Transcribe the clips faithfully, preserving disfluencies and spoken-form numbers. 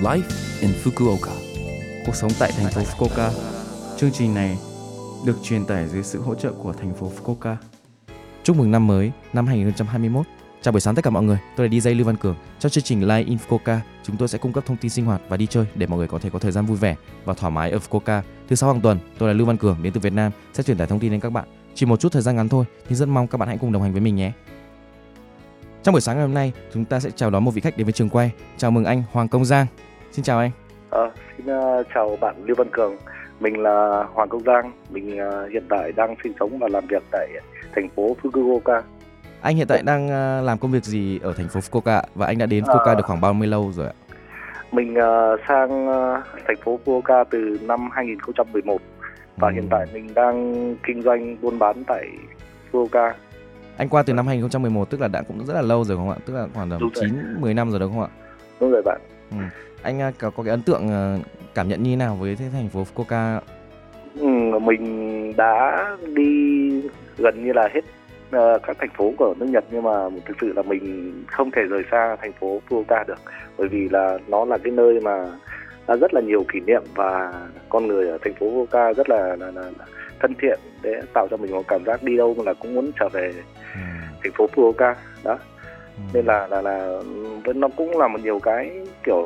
Life in Fukuoka. Cuộc sống tại thành phố Fukuoka. Chương trình này được truyền tải dưới sự hỗ trợ của thành phố Fukuoka. Chúc mừng năm mới, năm hai không hai mốt. Chào buổi sáng tất cả mọi người, tôi là đi jay Lưu Văn Cường. Trong chương trình Live in Fukuoka, chúng tôi sẽ cung cấp thông tin sinh hoạt và đi chơi để mọi người có thể có thời gian vui vẻ và thoải mái ở Fukuoka. Thứ sáu hàng tuần, tôi là Lưu Văn Cường đến từ Việt Nam sẽ truyền tải thông tin đến các bạn. Chỉ một chút thời gian ngắn thôi, nhưng rất mong các bạn hãy cùng đồng hành với mình nhé. Trong buổi sáng ngày hôm nay, chúng ta sẽ chào đón một vị khách đến với trường quay. Chào mừng anh Hoàng Công Giang. Xin chào anh. À, xin uh, chào bạn Lưu Văn Cường. Mình là Hoàng Công Giang. Mình uh, hiện tại đang sinh sống và làm việc tại thành phố Fukuoka. Anh hiện tại đang uh, làm công việc gì ở thành phố Fukuoka và anh đã đến Fukuoka à, được khoảng bao nhiêu lâu rồi ạ? Mình uh, sang uh, thành phố Fukuoka từ năm hai không một một và ừ. hiện tại mình đang kinh doanh buôn bán tại Fukuoka. Anh qua từ năm hai không một một, tức là đã cũng rất là lâu rồi không ạ? Tức là khoảng tầm chín mười năm rồi đúng không ạ? Đúng rồi bạn. Ừ. Anh có, có cái ấn tượng cảm nhận như thế nào với thành phố Fukuoka? Ừ, mình đã đi gần như là hết uh, các thành phố của nước Nhật, nhưng mà thực sự là mình không thể rời xa thành phố Fukuoka được, bởi vì là nó là cái nơi mà đã rất là nhiều kỷ niệm và con người ở thành phố Fukuoka rất là, là, là, là thân thiện để tạo cho mình một cảm giác đi đâu là cũng muốn trở về ừ. thành phố Fukuoka đó. Ừ. Nên là là là nó cũng là một nhiều cái kiểu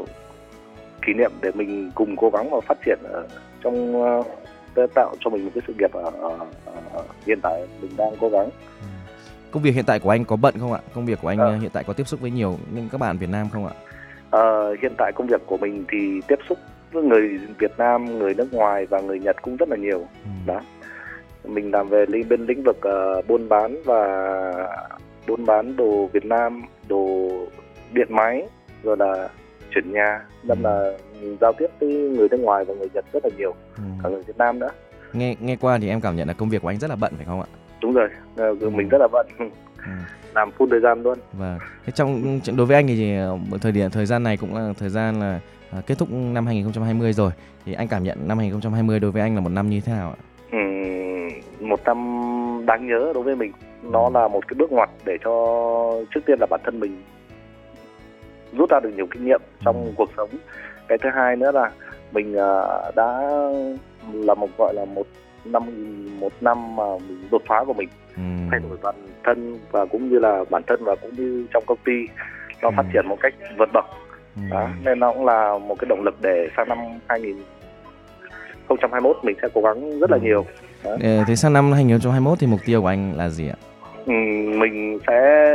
kỷ niệm để mình cùng cố gắng và phát triển ở trong uh, tạo cho mình một cái sự nghiệp ở, ở, ở hiện tại mình đang cố gắng. Ừ. Công việc hiện tại của anh có bận không ạ? Công việc của anh à. hiện tại có tiếp xúc với nhiều những các bạn Việt Nam không ạ? À, hiện tại công việc của mình thì tiếp xúc với người Việt Nam, người nước ngoài và người Nhật cũng rất là nhiều. Ừ. Đó. Mình làm về bên lĩnh vực uh, buôn bán và buôn bán đồ Việt Nam, đồ điện máy, rồi là chuyển nhà, nên ừ. là giao tiếp với người nước ngoài và người Nhật rất là nhiều, ừ. cả người Việt Nam nữa. Nghe nghe qua thì em cảm nhận là công việc của anh rất là bận phải không ạ? Đúng rồi, ừ. mình rất là bận, ừ. làm full thời gian luôn. Vâng. Thế trong đối với anh thì thời điểm thời gian này cũng là thời gian là à, kết thúc năm hai không hai không rồi, thì anh cảm nhận năm hai không hai không đối với anh là một năm như thế nào ạ? Ừ, một năm đáng nhớ đối với mình. Nó là một cái bước ngoặt để cho trước tiên là bản thân mình rút ra được nhiều kinh nghiệm trong ừ. cuộc sống. Cái thứ hai nữa là mình uh, đã là một gọi là một năm một năm mà mình đột phá của mình, ừ. thay đổi bản thân và cũng như là bản thân và cũng như trong công ty nó ừ. phát triển một cách vượt bậc. Ừ. Đó, nên nó cũng là một cái động lực để sang năm hai không hai mốt mình sẽ cố gắng rất là nhiều. Đó. Thế sang năm hai không hai mốt thì mục tiêu của anh là gì ạ? Ừ, mình sẽ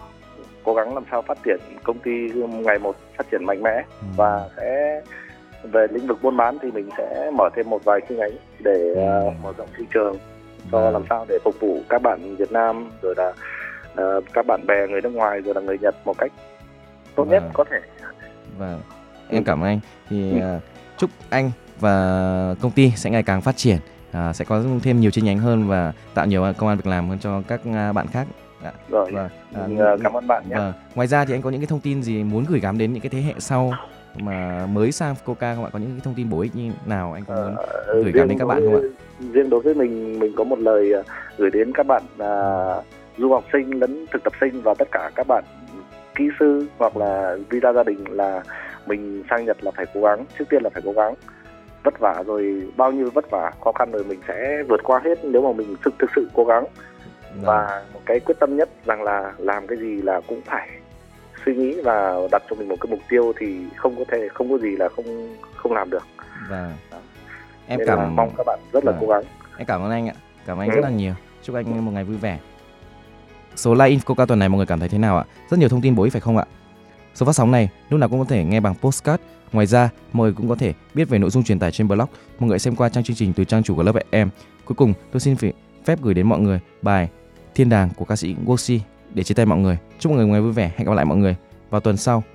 cố gắng làm sao phát triển công ty ngày một phát triển mạnh mẽ, ừ. và sẽ về lĩnh vực buôn bán thì mình sẽ mở thêm một vài chi nhánh để ừ. uh, mở rộng thị trường cho ừ. làm sao để phục vụ các bạn Việt Nam, rồi là uh, các bạn bè người nước ngoài, rồi là người Nhật một cách tốt nhất có thể. Vâng, em cảm ơn anh. Thì uh, chúc anh và công ty sẽ ngày càng phát triển, uh, sẽ có thêm nhiều chi nhánh hơn và tạo nhiều công ăn việc làm hơn cho các uh, bạn khác. À, rồi, vâng. à, cảm ơn bạn nhé. Vâng. Ngoài ra thì anh có những cái thông tin gì muốn gửi gắm đến những cái thế hệ sau mà mới sang Fukuoka không ạ? Có những cái thông tin bổ ích như nào anh có muốn à, gửi gắm đến các bạn không ạ? Riêng đối với mình, mình có một lời gửi đến các bạn à, du học sinh lẫn thực tập sinh và tất cả các bạn kỹ sư hoặc là visa gia đình là mình sang Nhật là phải cố gắng, trước tiên là phải cố gắng, vất vả rồi bao nhiêu vất vả khó khăn rồi mình sẽ vượt qua hết nếu mà mình thực thực sự cố gắng. Và một cái quyết tâm nhất rằng là làm cái gì là cũng phải suy nghĩ và đặt cho mình một cái mục tiêu thì không có thể không có gì là không không làm được. Và đó. Em Nên cảm mong các bạn rất là và... cố gắng. Em cảm ơn anh ạ, cảm ơn anh ừ. rất là nhiều. Chúc anh một ngày vui vẻ. Số Live in Fukuoka tuần này mọi người cảm thấy thế nào ạ? Rất nhiều thông tin bổ ích phải không ạ? Số phát sóng này lúc nào cũng có thể nghe bằng podcast. Ngoài ra, mọi người cũng có thể biết về nội dung truyền tải trên blog. Mọi người xem qua trang chương trình từ trang chủ của lớp em. Cuối cùng, tôi xin phép gửi đến mọi người bài Thiên Đàng của ca sĩ Wosi để chia tay mọi người. Chúc mọi người một ngày vui vẻ. Hẹn gặp lại mọi người vào tuần sau.